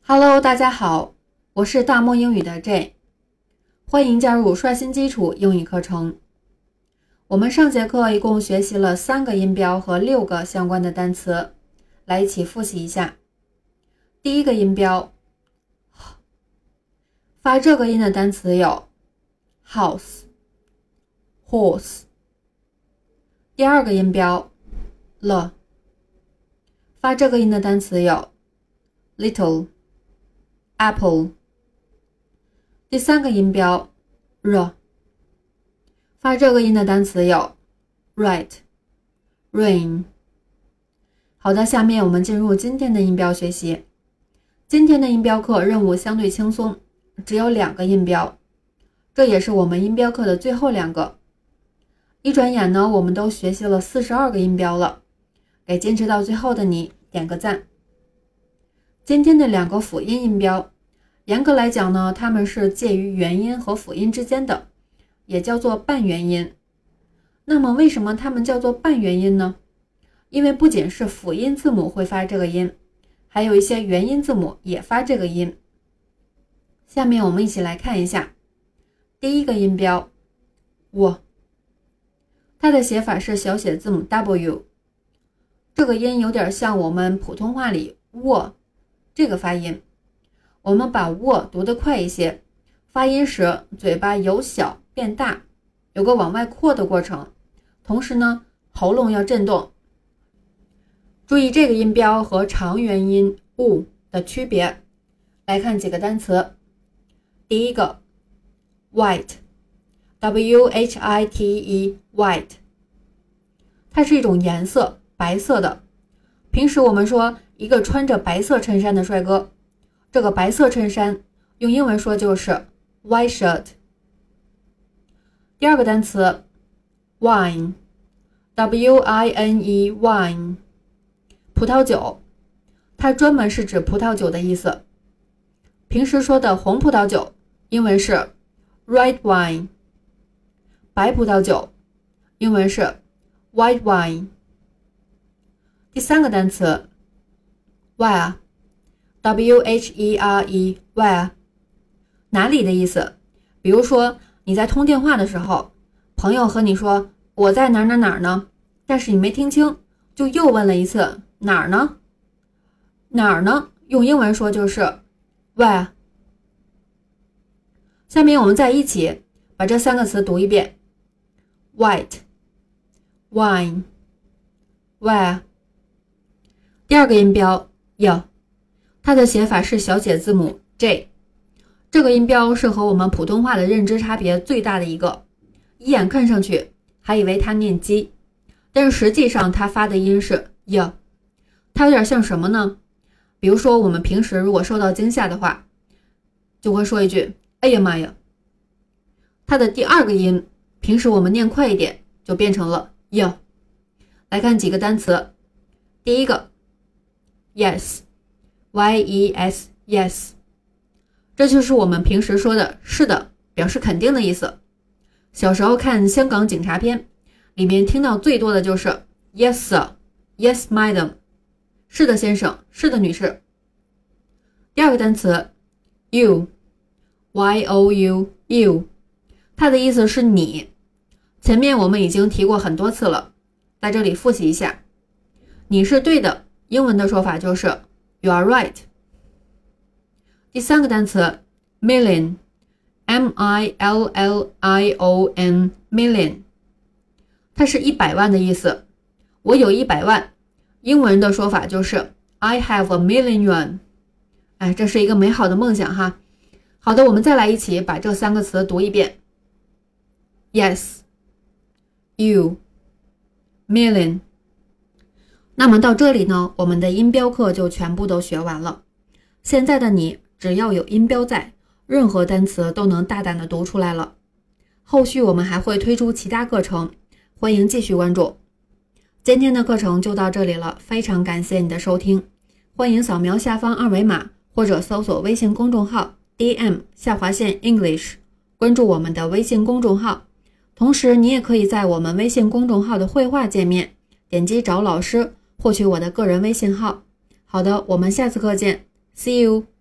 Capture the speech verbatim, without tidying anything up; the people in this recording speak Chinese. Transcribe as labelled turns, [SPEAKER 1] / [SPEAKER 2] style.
[SPEAKER 1] Hello， 大家好，我是大漠英语的 J， 欢迎加入刷新基础英语课程。我们上节课一共学习了三个音标和六个相关的单词，来一起复习一下。第一个音标，发这个音的单词有 house、horse。第二个音标 了，发这个音的单词有 little、apple。第三个音标 r， 发这个音的单词有 right、rain。好的，下面我们进入今天的音标学习。今天的音标课任务相对轻松，只有两个音标，这也是我们音标课的最后两个。一转眼呢，我们都学习了四十二个音标了，给坚持到最后的你点个赞。今天的两个辅音音标，严格来讲呢，它们是介于元音和辅音之间的，也叫做半元音。那么为什么它们叫做半元音呢？因为不仅是辅音字母会发这个音，还有一些元音字母也发这个音。下面我们一起来看一下。第一个音标 w， 它的写法是小写字母 W， 这个音有点像我们普通话里握这个发音。我们把握读得快一些，发音时嘴巴由小变大，有个往外扩的过程，同时呢，喉咙要震动。注意这个音标和长元音 u 的区别。来看几个单词。第一个 white， W H I T E white， 它是一种颜色，白色的。平时我们说一个穿着白色衬衫的帅哥，这个白色衬衫用英文说就是 white shirt。 第二个单词 wine， W I N E wine， 葡萄酒，它专门是指葡萄酒的意思。平时说的红葡萄酒英文是 red wine， 白葡萄酒英文是 white wine。 第三个单词 where， W H E R E where， 哪里的意思。比如说你在通电话的时候，朋友和你说我在哪儿哪儿哪儿呢，但是你没听清，就又问了一次哪儿呢？哪儿呢？用英文说就是 where。 下面我们再一起把这三个词读一遍 white、 wine、 where。 第二个音标 y， 它的写法是小写字母 J， 这个音标是和我们普通话的认知差别最大的一个，一眼看上去还以为它念鸡，但是实际上它发的音是 y。 它有点像什么呢？比如说我们平时如果受到惊吓的话，就会说一句哎呀妈呀。它的第二个音平时我们念快一点就变成了 y。 来看几个单词。第一个 yes， Y E S yes， 这就是我们平时说的是的，表示肯定的意思。小时候看香港警察片，里面听到最多的就是 yes sir， yes madam， 是的先生，是的女士。第二个单词 you， Y O U you， 它的意思是你。前面我们已经提过很多次了，在这里复习一下。你是对的，英文的说法就是 you are right。 第三个单词 million， M I L L I O N million， 它是一百万的意思。我有一百万，英文的说法就是 I have a million yuan。 哎，这是一个美好的梦想哈。好的，我们再来一起把这三个词读一遍 yes、 you、 million。 那么到这里呢，我们的音标课就全部都学完了。现在的你只要有音标在，任何单词都能大胆的读出来了。后续我们还会推出其他课程，欢迎继续关注。今天的课程就到这里了，非常感谢你的收听。欢迎扫描下方二维码或者搜索微信公众号 D M 下划线 English， 关注我们的微信公众号。同时你也可以在我们微信公众号的绘画界面点击找老师，获取我的个人微信号。好的，我们下次课见 See you。